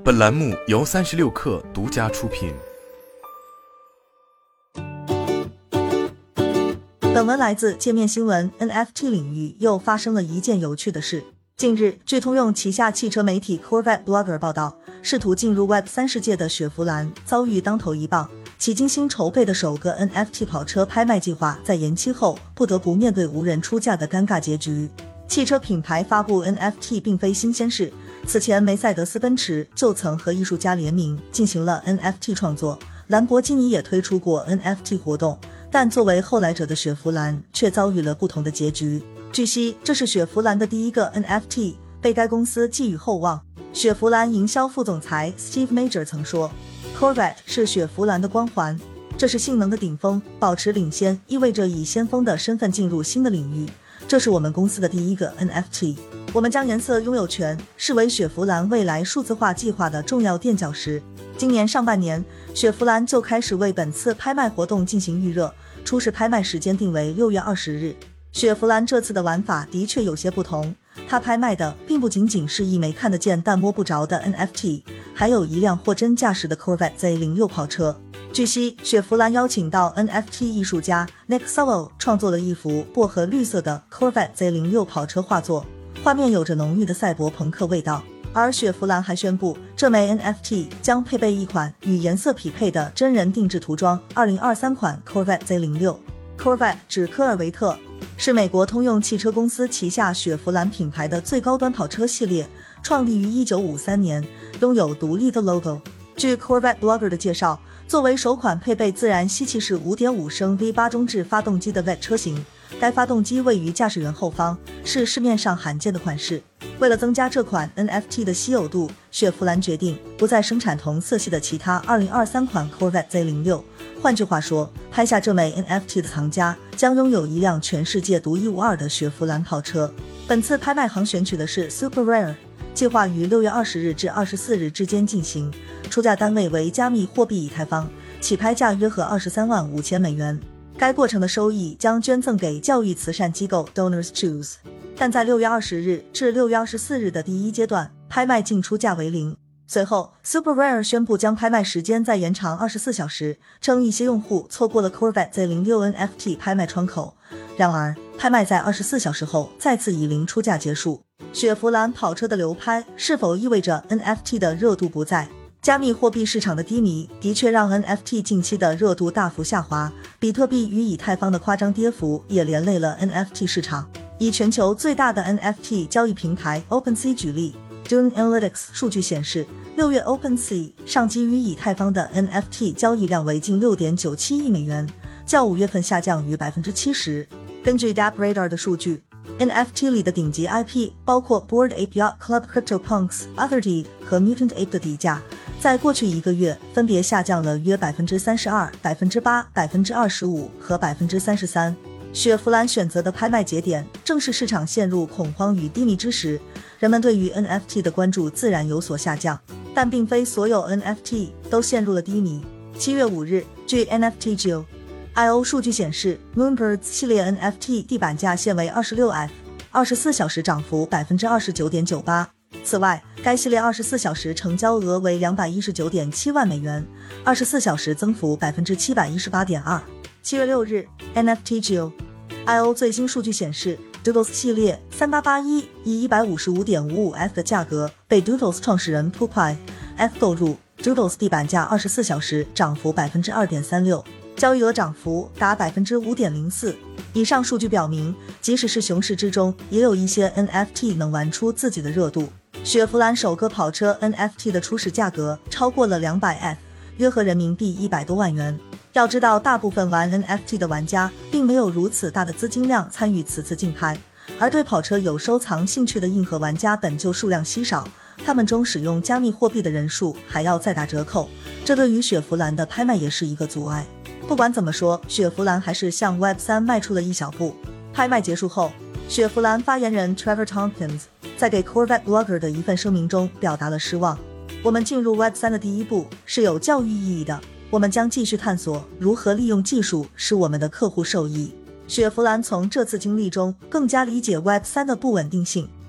本栏目由36氪独家出品。 本文来自界面新闻。 NFT 领域又发生了一件有趣的事。近日，据通用旗下汽车媒体 Corvette Blogger 报道，试图进入 Web3 世界的雪佛兰遭遇当头一棒，其精心筹备的首个 NFT 跑车拍卖计划在延期后不得不面对无人出价的尴尬结局。汽车品牌发布 NFT 并非新鲜事，此前梅赛德斯奔驰就曾和艺术家联名进行了 NFT 创作，兰博基尼也推出过 NFT 活动，但作为后来者的雪佛兰却遭遇了不同的结局。据悉，这是雪佛兰的第一个 NFT， 被该公司寄予厚望。雪佛兰营销副总裁 Steve Major 曾说， Corvette 是雪佛兰的光环，这是性能的顶峰，保持领先意味着以先锋的身份进入新的领域，这是我们公司的第一个 NFT， 我们将颜色拥有权视为雪佛兰未来数字化计划的重要垫脚石。今年上半年，雪佛兰就开始为本次拍卖活动进行预热，初始拍卖时间定为6月20日。雪佛兰这次的玩法的确有些不同，它拍卖的并不仅仅是一枚看得见但摸不着的 NFT， 还有一辆货真价实的 Corvette Z06 跑车。据悉，雪佛兰邀请到 NFT 艺术家 Nick Sowell 创作了一幅薄荷绿色的 Corvette Z06 跑车画作，画面有着浓郁的赛博朋克味道。而雪佛兰还宣布，这枚 NFT 将配备一款与颜色匹配的真人定制涂装2023款 Corvette Z06。Corvette 指科尔维特，是美国通用汽车公司旗下雪佛兰品牌的最高端跑车系列，创立于1953年，拥有独立的 logo。 据 Corvette Blogger 的介绍，作为首款配备自然吸气式 5.5 升 V8 中置发动机的 VET 车型，该发动机位于驾驶员后方，是市面上罕见的款式。为了增加这款 NFT 的稀有度，雪佛兰决定不再生产同色系的其他2023款 Corvette Z06。换句话说，拍下这枚 NFT 的藏家将拥有一辆全世界独一无二的雪佛兰跑车。本次拍卖行选取的是 Super Rare， 计划于6月20日至24日之间进行，出价单位为加密货币以太坊，起拍价约合23万5千美元。该过程的收益将捐赠给教育慈善机构 Donors Choose。 但在6月20日至6月24日的第一阶段，拍卖净出价为0。随后 Super Rare 宣布将拍卖时间再延长24小时，称一些用户错过了 Corvette Z06 NFT 拍卖窗口。然而，拍卖在24小时后再次以0出价结束。雪佛兰跑车的流拍是否意味着 NFT 的热度不在？加密货币市场的低迷的确让 NFT 近期的热度大幅下滑，比特币与以太坊的夸张跌幅也连累了 NFT 市场。以全球最大的 NFT 交易平台 OpenSea 举例， Dune Analytics 数据显示，6月 OpenSea 上基于以太坊的 NFT 交易量为近 6.97 亿美元，较5月份下降逾 70%。 根据 DappRadar 的数据， NFT 里的顶级 IP 包括 Bored Ape Yacht Club、CryptoPunks、Otherdeed 和 Mutant Ape 的底价在过去1个月分别下降了约 32%、8%、25% 和 33%。雪佛兰选择的拍卖节点正是市场陷入恐慌与低迷之时，人们对于 NFT 的关注自然有所下降，但并非所有 NFT 都陷入了低迷。7月5日，据 NFTGeo.io 数据显示， Moonbirds 系列 NFT 地板价现为 26F， 24小时涨幅 29.98%。 此外，该系列24小时成交额为 219.7 万美元，24小时增幅 718.2%。7月6日 NFTGeo.io 最新数据显示， Doodles 系列3881以 155.55F 的价格被 Doodles 创始人 Pupai F 购入， Doodles 地板价24小时涨幅 2.36%， 交易额涨幅达 5.04%。 以上数据表明，即使是熊市之中，也有一些 NFT 能玩出自己的热度。雪佛兰首个跑车 NFT 的初始价格超过了 200F， 约合人民币100多万元。要知道，大部分玩 NFT 的玩家并没有如此大的资金量参与此次竞拍，而对跑车有收藏兴趣的硬核玩家本就数量稀少，他们中使用加密货币的人数还要再打折扣，这对于雪佛兰的拍卖也是一个阻碍。不管怎么说，雪佛兰还是向 Web3 迈出了一小步。拍卖结束后，雪佛兰发言人 Trevor Tompkins 在给 Corvette Blogger 的一份声明中表达了失望。我们进入 Web3 的第一步是有教育意义的，我们将继续探索如何利用技术使我们的客户受益。雪佛兰从这次经历中更加理解 Web3 的不稳定性，